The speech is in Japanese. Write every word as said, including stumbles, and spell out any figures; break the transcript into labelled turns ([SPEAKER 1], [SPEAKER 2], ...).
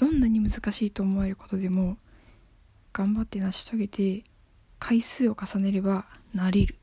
[SPEAKER 1] んなに難しいと思えることでも頑張って成し遂げて回数を重ねればなれる。